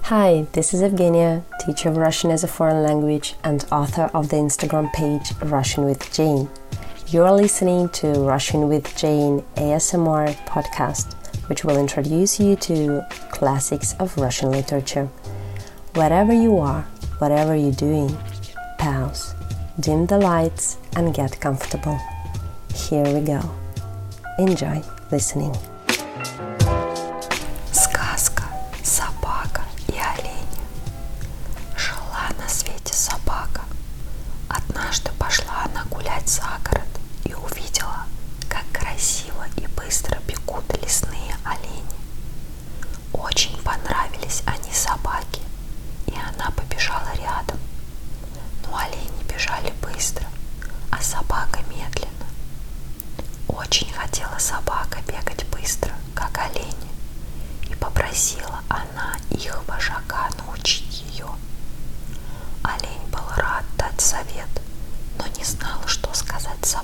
Hi, this is Evgenia, teacher of Russian as a foreign language and author of the Instagram page Russian with Jane. You're listening to Russian with Jane ASMR podcast, which will introduce you to classics of Russian literature. Wherever you are, whatever you're doing, pause, dim the lights and get comfortable. Here we go. Enjoy listening. Сказка «Собака и олень». Жила на свете собака. Однажды пошла она гулять за город и увидела, как красиво и быстро бегут лесные олени. Очень понравились они собаке, и она побежала рядом. Но олени бежали быстро, а собака медленно. Очень хотела собака бегать быстро, как олени, и попросила она их вожака научить ее. Олень был рад дать совет, но не знал, что сказать